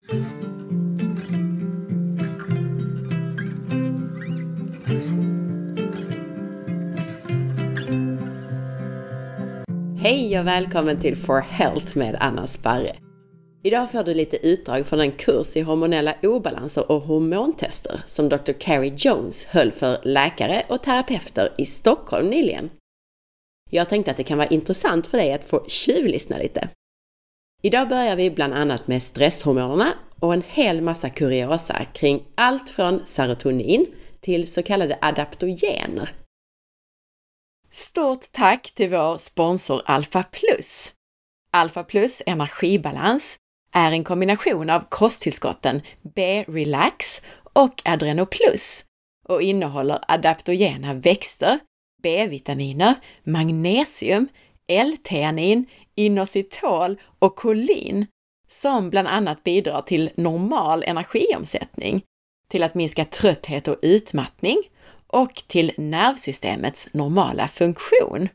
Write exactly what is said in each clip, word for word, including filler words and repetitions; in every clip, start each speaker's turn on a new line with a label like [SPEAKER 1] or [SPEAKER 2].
[SPEAKER 1] Hej och välkommen till For Health med Anna Sparre. Idag får du lite utdrag från en kurs i hormonella obalanser och hormontester som doktor Carrie Jones höll för läkare och terapeuter i Stockholm nyligen. Jag tänkte att det kan vara intressant för dig att få tjuvlyssna lite. Idag börjar vi bland annat med stresshormonerna och en hel massa kuriosa kring allt från serotonin till så kallade adaptogener. Stort tack till vår sponsor Alpha Plus. Alpha Plus energibalans är en kombination av kosttillskotten B-Relax och Adrenoplus och innehåller adaptogena växter, B-vitaminer, magnesium, L-theanin, inositol och kolin som bland annat bidrar till normal energiomsättning, till att minska trötthet och utmattning och till nervsystemets normala funktion.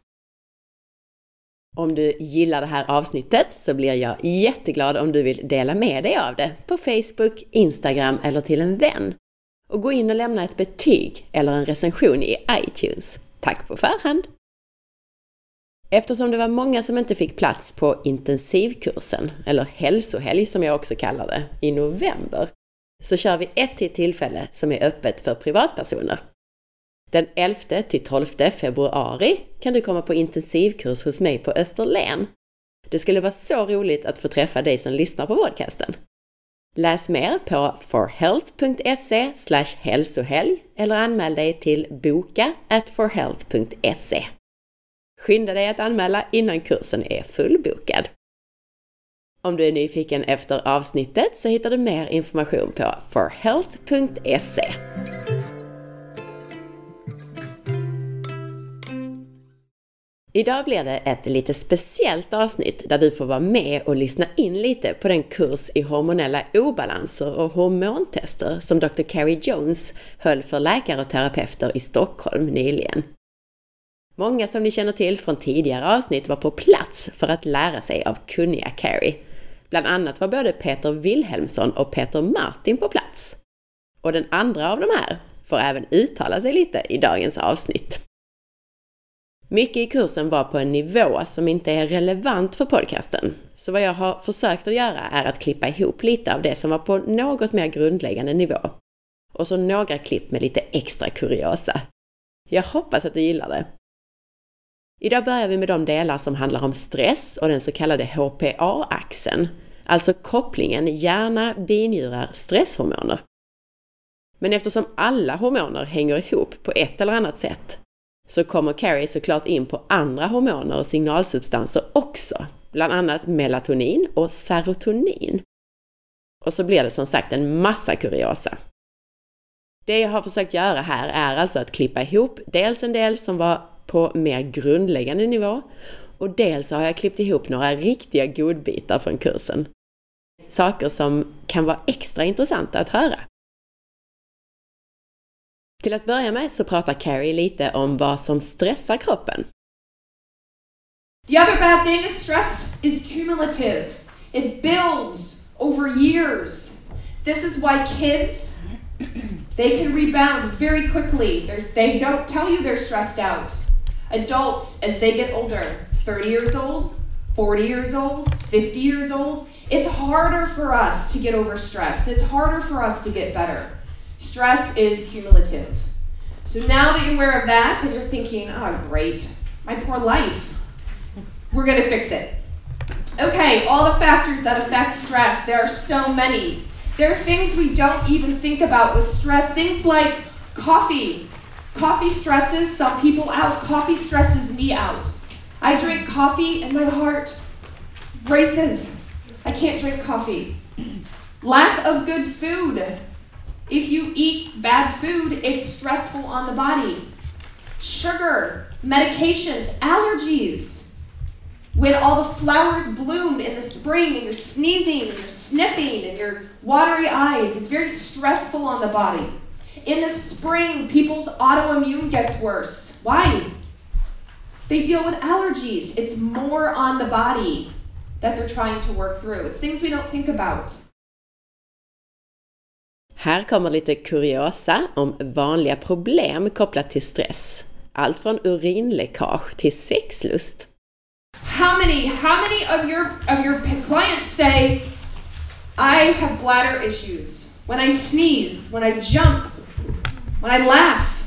[SPEAKER 1] Om du gillar det här avsnittet så blir jag jätteglad om du vill dela med dig av det på Facebook, Instagram eller till en vän. Och gå in och lämna ett betyg eller en recension i iTunes. Tack på förhand! Eftersom det var många som inte fick plats på intensivkursen, eller hälsohelg som jag också kallar det, i november, så kör vi ett till tillfälle som är öppet för privatpersoner. Den elfte till tolfte februari kan du komma på intensivkurs hos mig på Österlen. Det skulle vara så roligt att få träffa dig som lyssnar på podcasten. Läs mer på forhealth.se slash hälsohelg eller anmäl dig till boka at forhealth.se. Skynda dig att anmäla innan kursen är fullbokad. Om du är nyfiken efter avsnittet så hittar du mer information på forhealth.se. Idag blir det ett lite speciellt avsnitt där du får vara med och lyssna in lite på den kurs i hormonella obalanser och hormontester som doktor Carrie Jones höll för läkare och terapeuter i Stockholm nyligen. Många som ni känner till från tidigare avsnitt var på plats för att lära sig av kunniga Carrie. Bland annat var både Peter Wilhelmsson och Peter Martin på plats. Och den andra av de här får även uttala sig lite i dagens avsnitt. Mycket i kursen var på en nivå som inte är relevant för podcasten. Så vad jag har försökt att göra är att klippa ihop lite av det som var på något mer grundläggande nivå. Och så några klipp med lite extra kuriosa. Jag hoppas att du gillar det. Idag börjar vi med de delar som handlar om stress och den så kallade H P A-axeln. Alltså kopplingen hjärna-binjurar-stresshormoner. Men eftersom alla hormoner hänger ihop på ett eller annat sätt så kommer Carrie såklart in på andra hormoner och signalsubstanser också, bland annat melatonin och serotonin. Och så blir det som sagt en massa kuriosa. Det jag har försökt göra här är alltså att klippa ihop dels en del som var på mer grundläggande nivå och dels har jag klippt ihop några riktiga godbitar från kursen. Saker som kan vara extra intressanta att höra. Till att börja med så pratar Carrie lite om vad som stressar kroppen.
[SPEAKER 2] The other bad thing is stress is cumulative. It builds over years. This is why kids, they can rebound very quickly. They're, they don't tell you they're stressed out. Adults, as they get older, thirty years old, forty years old, fifty years old, it's harder for us to get over stress. It's harder for us to get better. Stress is cumulative. So now that you're aware of that and you're thinking, oh great, my poor life, we're going to fix it. Okay, all the factors that affect stress, there are so many. There are things we don't even think about with stress, things like coffee. Coffee stresses some people out. Coffee stresses me out. I drink coffee and my heart races. I can't drink coffee. Lack of good food. If you eat bad food, it's stressful on the body. Sugar, medications, allergies. When all the flowers bloom in the spring and you're sneezing and you're sniffing and your watery eyes, it's very stressful on the body. In the spring, people's autoimmune gets worse. Why? They deal with allergies. It's more on the body that they're trying to work through. It's things we don't think about.
[SPEAKER 1] Här kommer lite kuriosa om vanliga problem kopplat till stress. Allt från urinläckage till sexlust.
[SPEAKER 2] How many, how many of your, of your clients say, I have bladder issues when I sneeze, when I jump, when I laugh,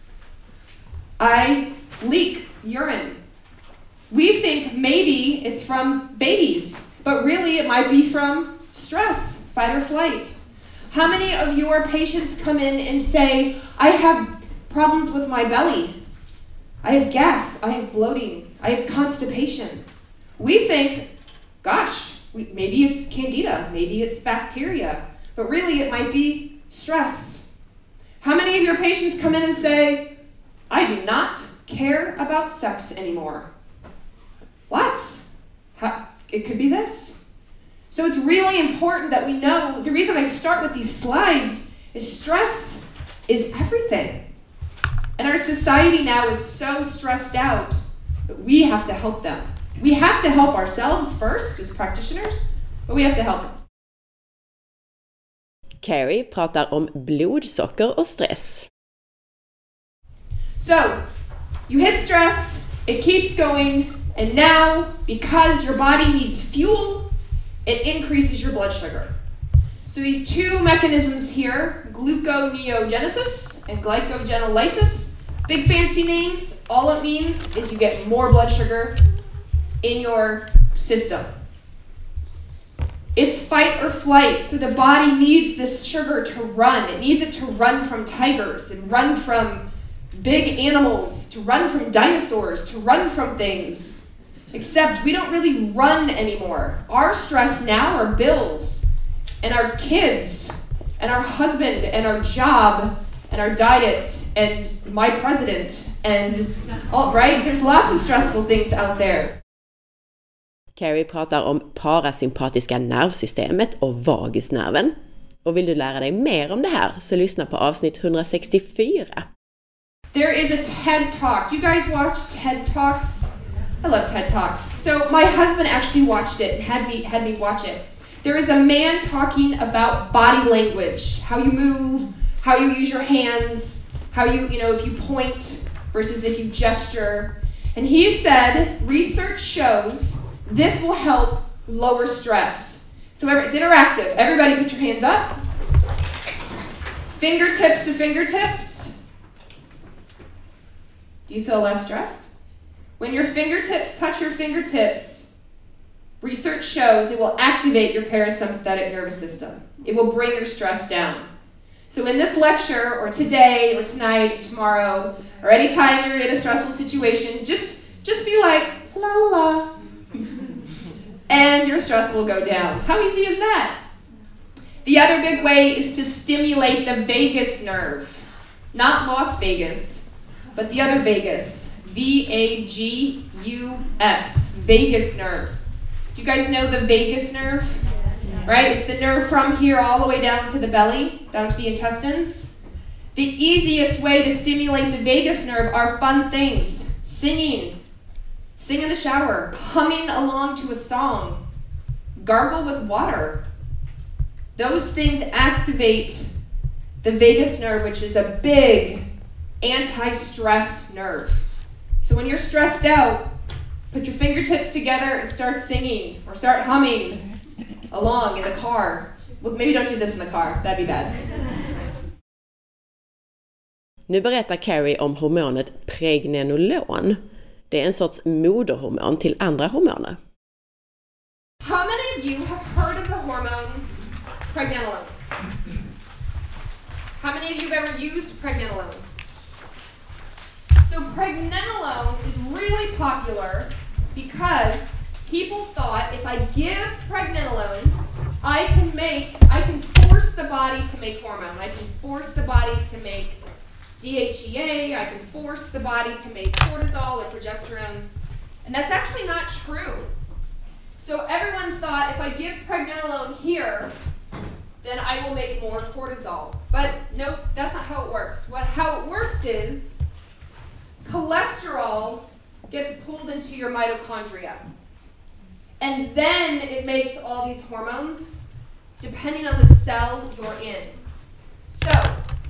[SPEAKER 2] I leak urine. We think maybe it's from babies, but really it might be from stress, fight or flight. How many of your patients come in and say, I have problems with my belly. I have gas, I have bloating, I have constipation. We think, gosh, we, maybe it's candida, maybe it's bacteria, but really it might be stress. How many of your patients come in and say, I do not care about sex anymore? What? How, it could be this. So it's really important that we know, the reason I start with these slides is stress is everything. And our society now is so stressed out that we have to help them. We have to help ourselves first as practitioners, but we have to help them.
[SPEAKER 1] Carrie pratar om blodsocker och stress.
[SPEAKER 2] So, you hit stress, it keeps going, and now, because your body needs fuel, it increases your blood sugar. So these two mechanisms here, gluconeogenesis and glycogenolysis, big fancy names, all it means is you get more blood sugar in your system. It's fight or flight, so the body needs this sugar to run. It needs it to run from tigers and run from big animals, to run from dinosaurs, to run from things. Except we don't really run anymore. Our stress now are bills, and our kids, and our husband, and our job, and our diet, and my president, and all, right? There's lots of stressful things out there.
[SPEAKER 1] Carrie pratar om parasympatiska nervsystemet och vagusnerven. Och vill du lära dig mer om det här så lyssna på avsnitt hundrasextiofyra.
[SPEAKER 2] There is a TED Talk. You guys watch TED Talks? I love TED Talks. So my husband actually watched it and had me had me watch it. There is a man talking about body language, how you move, how you use your hands, how you, you know, if you point versus if you gesture. And he said, research shows this will help lower stress. So it's interactive. Everybody put your hands up. Fingertips to fingertips. Do you feel less stressed? When your fingertips touch your fingertips, research shows it will activate your parasympathetic nervous system. It will bring your stress down. So in this lecture, or today, or tonight, or tomorrow, or anytime you're in a stressful situation, just, just be like, la la la. And your stress will go down. How easy is that? The other big way is to stimulate the vagus nerve. Not Las Vegas, but the other vagus. V A G U S. Vagus nerve. Do you guys know the vagus nerve? Right? It's the nerve from here all the way down to the belly, down to the intestines. The easiest way to stimulate the vagus nerve are fun things. Singing. Sing in the shower. Humming along to a song. Gargle with water. Those things activate the vagus nerve, which is a big anti-stress nerve. So when you're stressed out, put your fingertips together and start singing or start humming along in the car. Well, maybe don't do this in the car. That'd be bad.
[SPEAKER 1] Nu berättar Carrie om hormonet pregnenolon. Det är en sorts moderhormon till andra hormoner.
[SPEAKER 2] How many of you have heard of the hormone pregnenolone? How many of you have ever used pregnenolone? So pregnenolone is really popular because people thought if I give pregnenolone, I can make, I can force the body to make hormone. I can force the body to make D H E A, I can force the body to make cortisol or progesterone. And that's actually not true. So everyone thought if I give pregnenolone here, then I will make more cortisol. But nope, that's not how it works. What, how it works is cholesterol gets pulled into your mitochondria. And then it makes all these hormones depending on the cell you're in.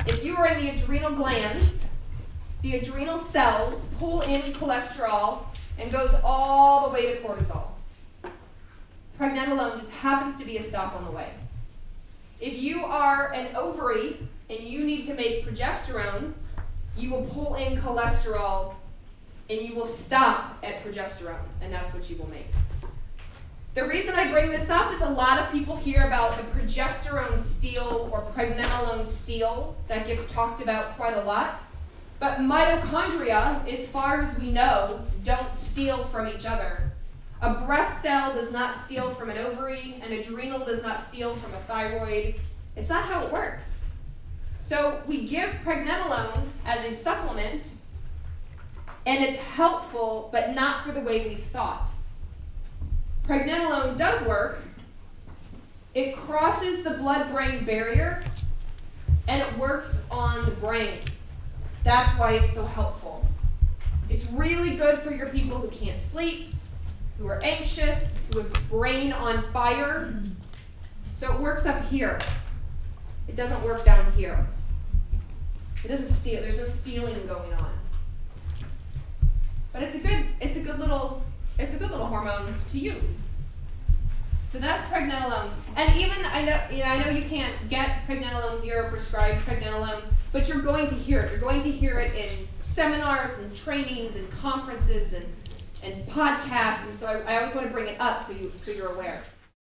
[SPEAKER 2] if you are in the adrenal glands, the adrenal cells pull in cholesterol and goes all the way to cortisol. Pregnenolone just happens to be a stop on the way. If you are an ovary and you need to make progesterone, you will pull in cholesterol and you will stop at progesterone, and that's what you will make. The reason I bring this up is a lot of people hear about the progesterone steal or pregnenolone steal that gets talked about quite a lot. But mitochondria, as far as we know, don't steal from each other. A breast cell does not steal from an ovary, an adrenal does not steal from a thyroid. It's not how it works. So we give pregnenolone as a supplement, and it's helpful, but not for the way we thought. Pregnenolone does work. It crosses the blood-brain barrier, and it works on the brain. That's why it's so helpful. It's really good for your people who can't sleep, who are anxious, who have brain on fire. So it works up here. It doesn't work down here. It doesn't steal. There's no stealing going on. But it's a good, it's a good little, it's a good little hormone to use. So that's pregnenolone. And even I know, you know, I know you can't get pregnenolone here or prescribed pregnenolone, but you're going to hear it. You're going to hear it in seminars and trainings and conferences and, and podcasts. And so I, I always want to bring it up so you so you're aware.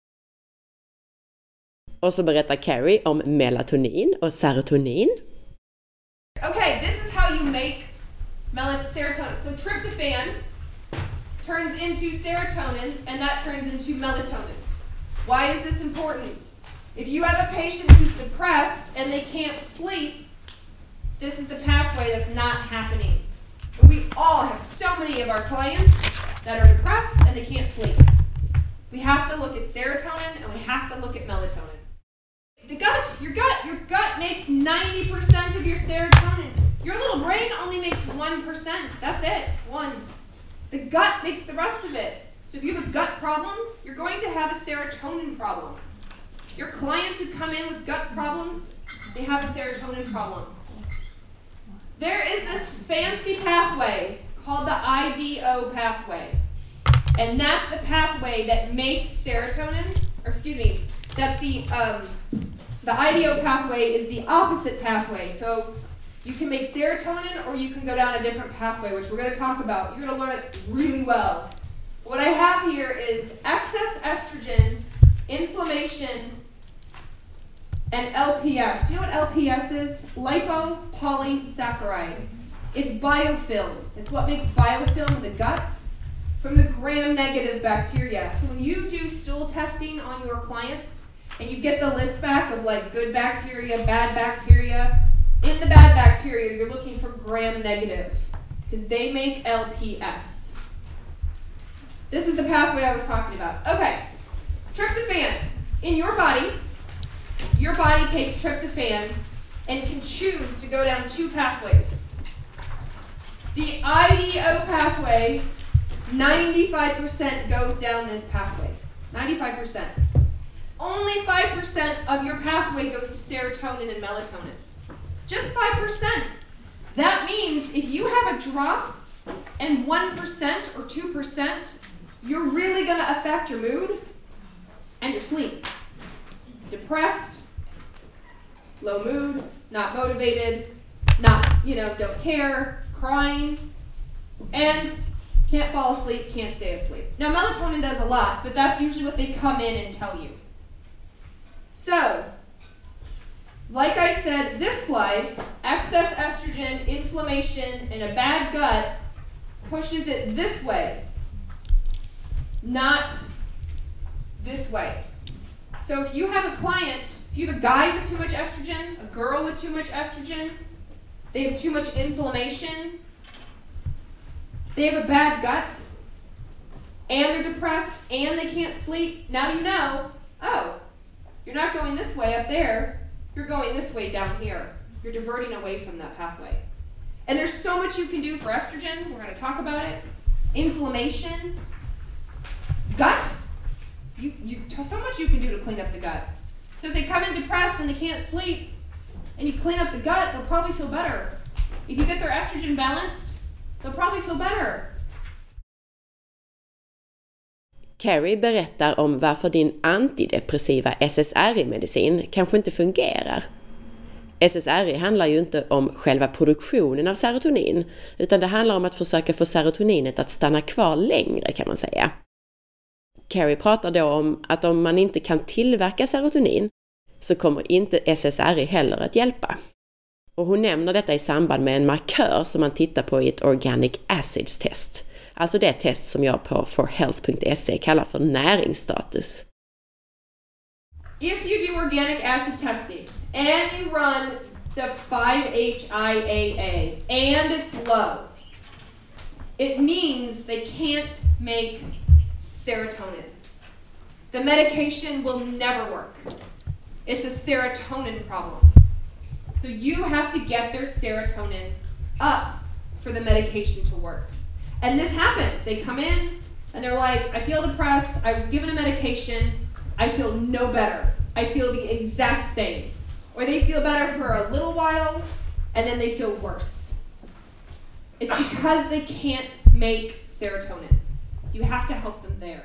[SPEAKER 1] Och så berättar Carrie om melatonin och serotonin.
[SPEAKER 2] Okay, this is how you make mel- serotonin. So tryptophan turns into serotonin, and that turns into melatonin. Why is this important? If you have a patient who's depressed and they can't sleep, this is the pathway that's not happening. We all have so many of our clients that are depressed and they can't sleep. We have to look at serotonin and we have to look at melatonin. The gut, your gut, your gut makes ninety percent of your serotonin. Your little brain only makes one percent. That's it, one. The gut makes the rest of it. So if you have a gut problem, you're going to have a serotonin problem. Your clients who come in with gut problems, they have a serotonin problem. There is this fancy pathway called the I D O pathway. And that's the pathway that makes serotonin, or excuse me, that's the, um, the I D O pathway is the opposite pathway. So you can make serotonin or you can go down a different pathway, which we're going to talk about. You're going to learn it really well. What I have here is excess estrogen, inflammation, and L P S. Do you know what L P S is? Lipopolysaccharide. It's biofilm. It's what makes biofilm in the gut from the gram-negative bacteria. So when you do stool testing on your clients and you get the list back of like good bacteria, bad bacteria, in the bad bacteria you're looking for gram-negative because they make L P S. This is the pathway I was talking about. Okay, tryptophan. In your body, your body takes tryptophan and can choose to go down two pathways. The I D O pathway, ninety-five percent goes down this pathway. ninety-five percent. Only five percent of your pathway goes to serotonin and melatonin. Just five percent. That means if you have a drop and one percent or two percent, you're really going to affect your mood and your sleep. Depressed, low mood, not motivated, not, you know, don't care, crying, and can't fall asleep, can't stay asleep. Now, melatonin does a lot, but that's usually what they come in and tell you. So, like I said, this slide, excess estrogen, inflammation, and a bad gut pushes it this way, not this way. So if you have a client, if you have a guy with too much estrogen, a girl with too much estrogen, they have too much inflammation, they have a bad gut, and they're depressed, and they can't sleep, now you know, oh, you're not going this way up there, you're going this way down here. You're diverting away from that pathway. And there's so much you can do for estrogen. We're going to talk about it. Inflammation. Gut. You, you, so much you can do to clean up the gut. So if they come in depressed and they can't sleep, and you clean up the gut, they'll probably feel better. If you get their estrogen balanced, they'll probably feel better.
[SPEAKER 1] Carrie berättar om varför din antidepressiva S S R I-medicin kanske inte fungerar. S S R I handlar ju inte om själva produktionen av serotonin, utan det handlar om att försöka få serotoninet att stanna kvar längre, kan man säga. Carrie pratar då om att om man inte kan tillverka serotonin så kommer inte S S R I heller att hjälpa. Och hon nämner detta i samband med en markör som man tittar på i ett Organic Acids test. Alltså det test som jag på for health punkt se kallar för näringsstatus.
[SPEAKER 2] If you do organic acid testing and you run the five H I A A and it's low, it means they can't make serotonin. The medication will never work. It's a serotonin problem. So you have to get their serotonin up for the medication to work. And this happens. They come in and they're like, I feel depressed. I was given a medication. I feel no better. I feel the exact same. Or they feel better for a little while and then they feel worse. It's because they can't make serotonin. So you have to help them there.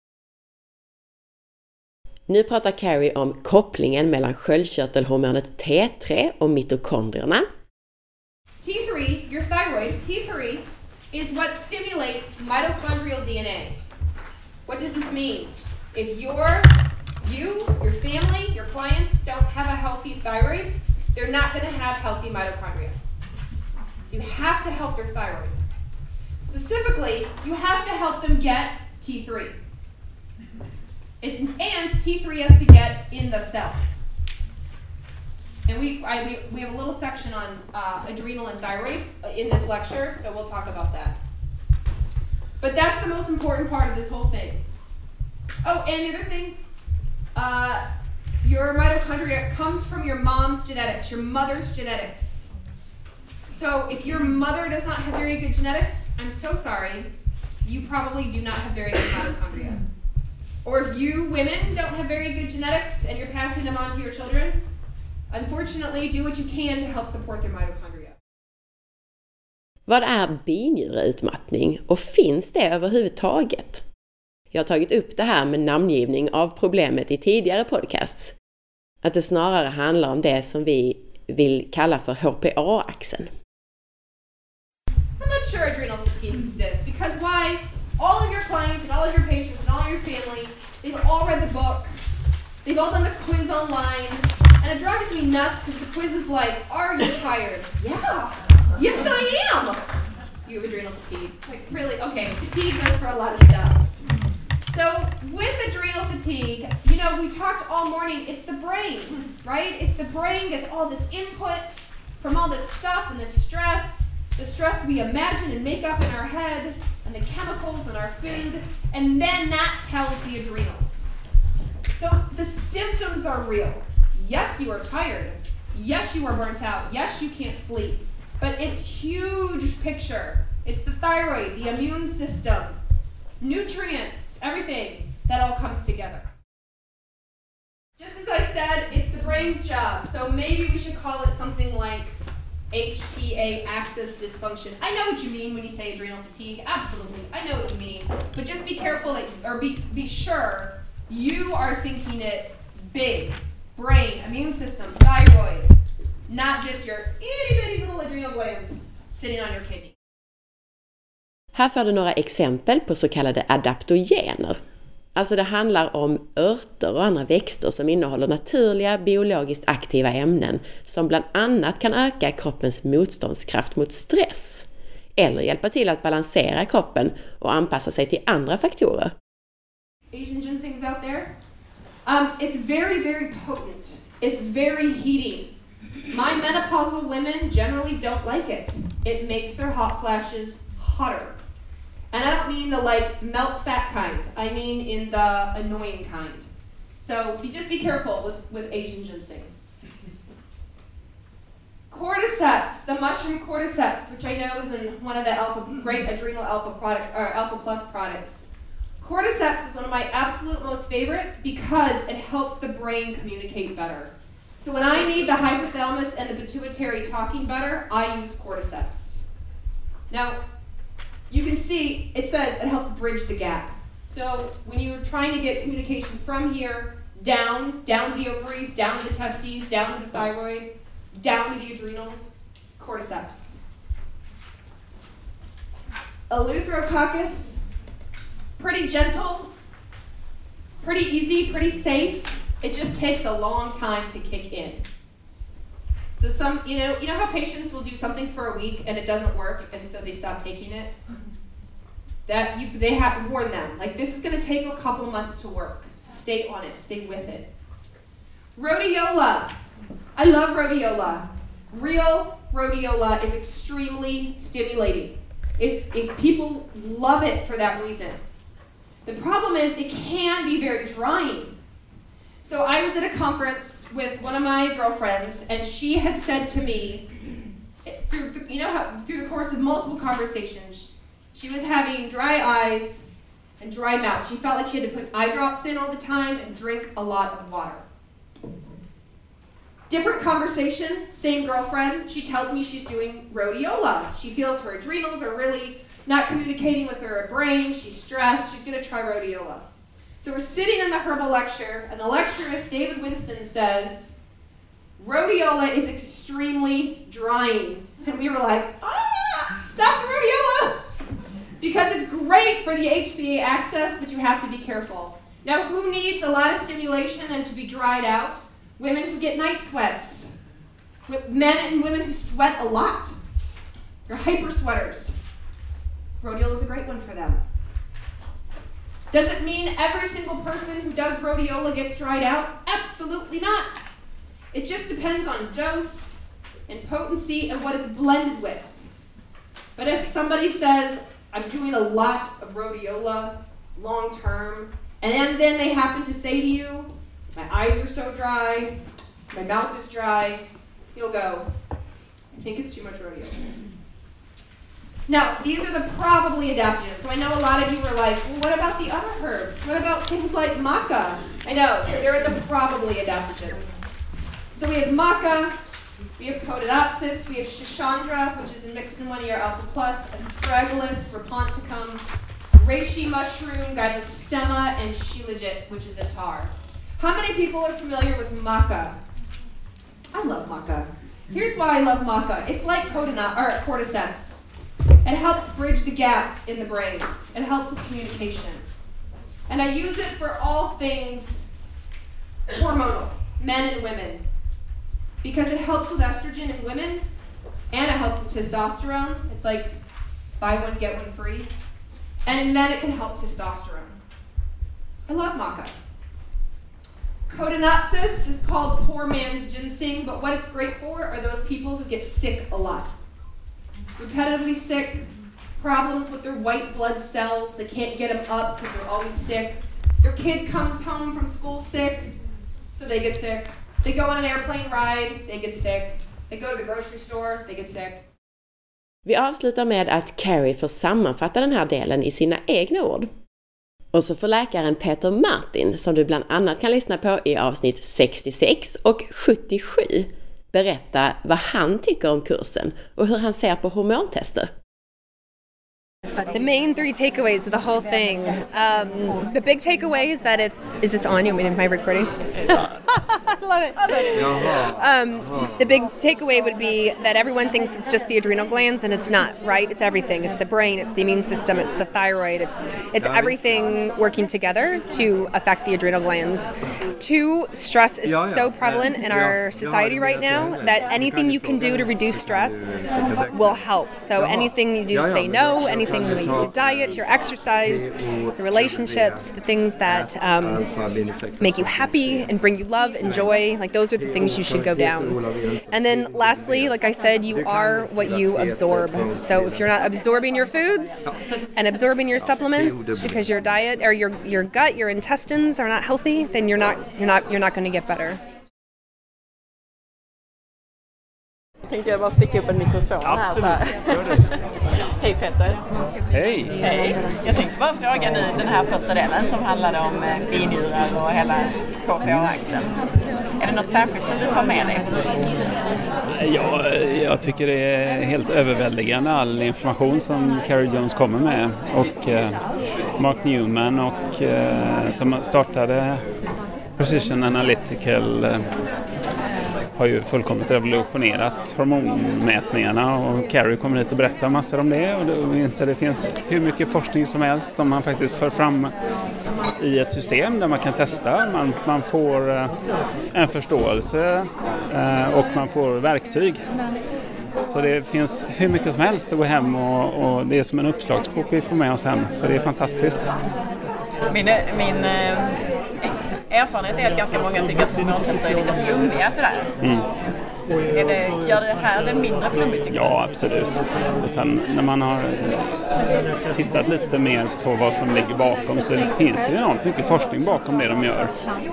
[SPEAKER 1] Nu pratar Carrie om kopplingen mellan sköldkörtelhormonet T tre och mitokondrierna.
[SPEAKER 2] T three, your thyroid, T three, is what stimulates mitochondrial D N A. What does this mean? If you're, you, your family, your clients don't have a healthy thyroid, they're not going to have healthy mitochondria. So you have to help their thyroid. Specifically, you have to help them get T three. It, and T three has to get in the cells. And we, I, we, we have a little section on uh, adrenal and thyroid in this lecture, so we'll talk about that. But that's the most important part of this whole thing. Oh, and the other thing, uh, your mitochondria comes from your mom's genetics, your mother's genetics. So if your mother does not have very good genetics, I'm so sorry, you probably do not have very good mitochondria. Or if you women don't have very good genetics and you're passing them on to your children, unfortunately, do what you can to help support their mitochondria.
[SPEAKER 1] Vad är binjureutmattning och finns det överhuvudtaget? Jag har tagit upp det här med namngivning av problemet i tidigare podcasts. Att det snarare handlar om det som vi vill kalla för H P A-axeln.
[SPEAKER 2] I'm not sure adrenal fatigue exists because why? All of your clients and all of your patients and all of your family, they've all read the book, they've all done the quiz online, and it drives me nuts because the quiz is like, are you tired? Yeah. Yes, I am. You have adrenal fatigue. Like, really? Okay, fatigue goes for a lot of stuff. So with adrenal fatigue, you know, we talked all morning, it's the brain, right? It's the brain gets all this input from all this stuff and this stress, the stress we imagine and make up in our head, and the chemicals in our food, and then that tells the adrenals. So the symptoms are real. Yes, you are tired. Yes, you are burnt out. Yes, you can't sleep. But it's huge picture. It's the thyroid, the immune system, nutrients, everything that all comes together. Just as I said, it's the brain's job. So maybe we should call it something like H P A axis dysfunction. I know what you mean when you say adrenal fatigue. Absolutely, I know what you mean. But just be careful that, or be be sure you are thinking it big. Brain, immune system, thyroid, not just your itty bitty little adrenal glands sitting on your kidney.
[SPEAKER 1] Här får du några exempel på så kallade adaptogener. Alltså det handlar om örter och andra växter som innehåller naturliga biologiskt aktiva ämnen som bland annat kan öka kroppens motståndskraft mot stress eller hjälpa till att balansera kroppen och anpassa sig till andra faktorer.
[SPEAKER 2] Asian ginsengs out there? Um, it's very, very potent. It's very heating. My menopausal women generally don't like it. It makes their hot flashes hotter. And I don't mean the like melt fat kind. I mean in the annoying kind. So be, just be careful with, with Asian ginseng. Cordyceps, the mushroom cordyceps, which I know is in one of the alpha, great adrenal alpha product or alpha plus products. Cordyceps is one of my absolute most favorites because it helps the brain communicate better. So when I need the hypothalamus and the pituitary talking better, I use cordyceps. Now, you can see it says it helps bridge the gap. So when you're trying to get communication from here, down, down to the ovaries, down to the testes, down to the thyroid, down to the adrenals, cordyceps. Eleutherococcus, pretty gentle, pretty easy, pretty safe. It just takes a long time to kick in. So some, you know, you know how patients will do something for a week and it doesn't work, and so they stop taking it? That you, they have to warn them, like, this is going to take a couple months to work, so stay on it, stay with it. Rhodiola. I love rhodiola. Real rhodiola is extremely stimulating. It's, it, people love it for that reason. The problem is it can be very drying. So I was at a conference with one of my girlfriends, and she had said to me, through the, you know how through the course of multiple conversations, she was having dry eyes and dry mouth. She felt like she had to put eye drops in all the time and drink a lot of water. Different conversation, same girlfriend. She tells me she's doing rhodiola. She feels her adrenals are really not communicating with her brain. She's stressed. She's going to try rhodiola. So we're sitting in the herbal lecture, and the lecturist, David Winston, says, rhodiola is extremely drying. And we were like, ah, stop the rhodiola! Because it's great for the H P A axis, but you have to be careful. Now, who needs a lot of stimulation and to be dried out? Women who get night sweats. Men and women who sweat a lot. They're hyper sweaters. Rhodiola is a great one for them. Does it mean every single person who does rhodiola gets dried out? Absolutely not. It just depends on dose and potency and what it's blended with. But if somebody says, I'm doing a lot of rhodiola long term, and then, then they happen to say to you, my eyes are so dry, my mouth is dry, you'll go, I think it's too much rhodiola. Now, these are the probably adaptogens. So I know a lot of you were like, well, what about the other herbs? What about things like maca? I know, so they're the probably adaptogens. So we have maca, we have Codonopsis, we have Schisandra, which is mixed in one of your alpha plus, Astragalus, Raponticum, reishi mushroom, Gymnostemma, and Shilajit, which is a tar. How many people are familiar with maca? I love maca. Here's why I love maca. It's like codona- or cordyceps. It helps bridge the gap in the brain. It helps with communication. And I use it for all things hormonal, men and women. Because it helps with estrogen in women, and it helps with testosterone. It's like buy one, get one free. And in men, it can help testosterone. I love maca. Codonopsis is called poor man's ginseng, but what it's great for are those people who get sick a lot. Repetitively sick, problems with their white blood cells, they can't get them up because they're always sick. Their kid comes home from school sick, so they get sick. They go on an airplane ride, they get sick. They go to the grocery store, they get sick.
[SPEAKER 1] Vi avslutar med att Carrie får sammanfatta den här delen i sina egna ord. Och så får läkaren Peter Martin, som du bland annat kan lyssna på i avsnitt sextiosex och sjuttiosju, berätta vad han tycker om kursen och hur han ser på hormontester.
[SPEAKER 3] The main three takeaways of the whole thing. Um, the big takeaway is that it's... Is this on? You want me to, am I recording? I love it. Um, the big takeaway would be that everyone thinks it's just the adrenal glands, and it's not, right? It's everything. It's the brain, it's the immune system, it's the thyroid, it's it's everything working together to affect the adrenal glands. Two, stress is so prevalent in our society right now that anything you can do to reduce stress will help. So anything you do to say no, anything the way you do diet, your exercise, your relationships, the things that um, make you happy and bring you love and joy, like those are the things you should go down. And then lastly, like I said, you are what you absorb. So if you're not absorbing your foods and absorbing your supplements because your diet or your your gut, your intestines are not healthy, then you're not you're not you're not going to get better.
[SPEAKER 4] Tänkte jag bara sticka upp en mikrofon här så här. Hej Peter.
[SPEAKER 5] Hej.
[SPEAKER 4] Hej. Jag tänkte bara fråga nu den här första delen som handlade om binjurar och hela H P A-axeln. Är det något särskilt som du tar med dig?
[SPEAKER 5] Ja, jag tycker det är helt överväldigande all information som Carrie Jones kommer med. Och eh, Mark Newman och, eh, som startade Precision Analytical eh, har ju fullkomligt revolutionerat hormonmätningarna, och Carrie kommer hit och berättar massor om det, och det, det finns hur mycket forskning som helst som man faktiskt för fram i ett system där man kan testa. Man, man får eh, en förståelse eh, och man får verktyg. Så det finns hur mycket som helst att gå hem och, och det är som en uppslagsbok vi får med oss hem, så det är fantastiskt.
[SPEAKER 4] Min, min eh, erfarenhet är att ganska många tycker att hormontester är lite flummiga sådär. Mm. Är det, gör det här det mindre flummigt?
[SPEAKER 5] Ja, absolut. Och sen när man har tittat lite mer på vad som ligger bakom, så finns det ju enormt mycket forskning bakom det de gör.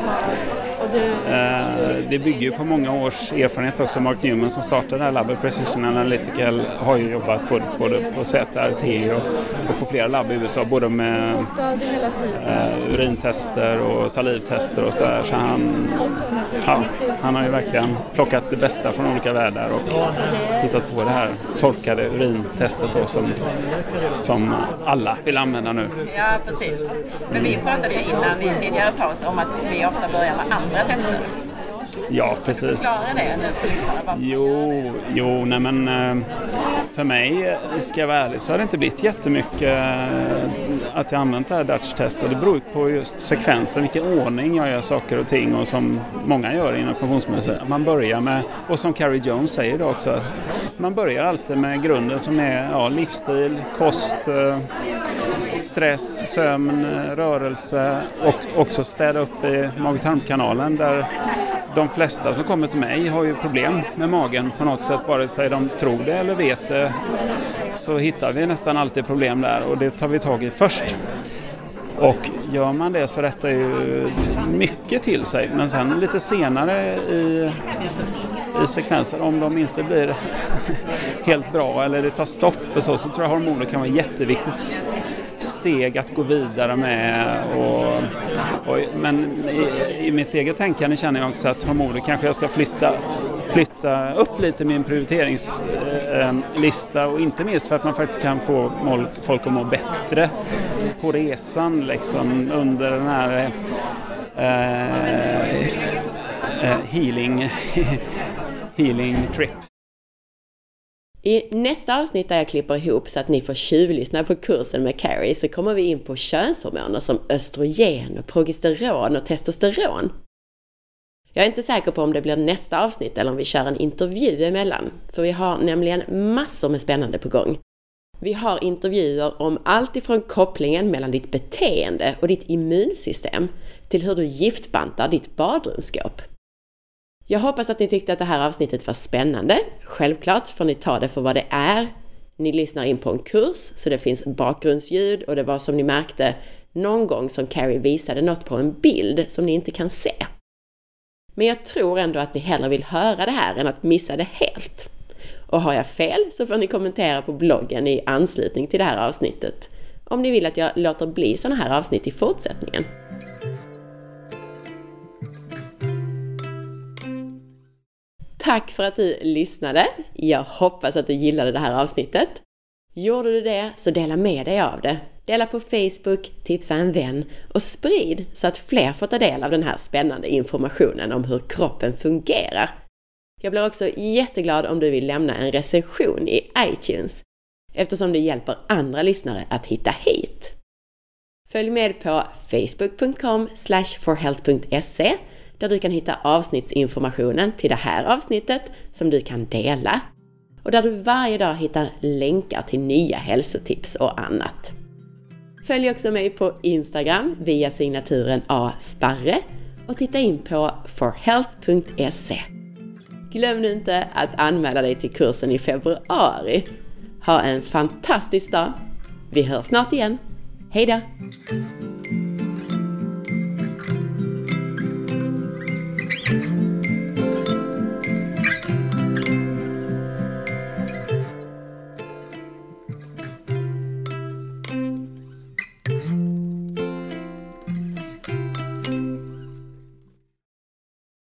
[SPEAKER 5] Det bygger ju på många års erfarenhet också. Mark Newman som startade det här labbet, Precision Analytical, har ju jobbat både, både på Z R T och, och på flera labb i U S A, både med uh, urintester och salivtester och så här. Så han, ja, han har ju verkligen plockat det bästa från olika världar och hittat på det här torkade urintestet då, som, som alla vill använda nu.
[SPEAKER 4] Ja, precis. Men vi pratade ju innan i tidigare paus om att vi ofta börjar med andra tester.
[SPEAKER 5] Ja, precis.
[SPEAKER 4] Förklara det nu för lyssnarna.
[SPEAKER 5] Jo, jo, nej men för mig, ska jag vara ärlig, så har det inte blivit jättemycket att jag använt det här Dutch-testet. Det beror på just sekvensen, vilken ordning jag gör saker och ting, och som många gör inom funktionsmedicin. Man börjar med, och som Carrie Jones säger då också, man börjar alltid med grunden som är ja, livsstil, kost, stress, sömn, rörelse, och också städa upp i mag-tarmkanalen, där de flesta som kommer till mig har ju problem med magen på något sätt, vare sig de tror det eller vet det, så hittar vi nästan alltid problem där, och det tar vi tag i först. Och gör man det så rättar ju mycket till sig, men sen lite senare i, i sekvenser, om de inte blir helt bra eller det tar stopp och så, så tror jag hormoner kan vara jätteviktigt steg att gå vidare med. Och, och, men i, i mitt eget tänkande känner jag också att hormoner kanske jag ska flytta, flytta upp lite min prioriteringslista, och inte minst för att man faktiskt kan få mål, folk att må bättre på resan liksom, under den här eh, eh, healing, healing trip.
[SPEAKER 1] I nästa avsnitt där jag klipper ihop så att ni får tjuvlyssna på kursen med Carrie, så kommer vi in på könshormoner som östrogen och progesteron och testosteron. Jag är inte säker på om det blir nästa avsnitt eller om vi kör en intervju emellan, för vi har nämligen massor med spännande på gång. Vi har intervjuer om allt ifrån kopplingen mellan ditt beteende och ditt immunsystem till hur du giftbantar ditt badrumsskåp. Jag hoppas att ni tyckte att det här avsnittet var spännande. Självklart får ni ta det för vad det är. Ni lyssnar in på en kurs, så det finns bakgrundsljud, och det var som ni märkte någon gång som Carrie visade något på en bild som ni inte kan se. Men jag tror ändå att ni hellre vill höra det här än att missa det helt. Och har jag fel så får ni kommentera på bloggen i anslutning till det här avsnittet, om ni vill att jag låter bli sådana här avsnitt i fortsättningen. Tack för att du lyssnade. Jag hoppas att du gillade det här avsnittet. Gjorde du det, så dela med dig av det. Dela på Facebook, tipsa en vän och sprid så att fler får ta del av den här spännande informationen om hur kroppen fungerar. Jag blir också jätteglad om du vill lämna en recension i iTunes, eftersom det hjälper andra lyssnare att hitta hit. Följ med på facebook punkt com slash forhealth punkt se, där du kan hitta avsnittsinformationen till det här avsnittet som du kan dela, och där du varje dag hittar länkar till nya hälsotips och annat. Följ också mig på Instagram via signaturen asparre och titta in på forhealth punkt se. Glöm nu inte att anmäla dig till kursen i februari. Ha en fantastisk dag. Vi hörs snart igen. Hej då!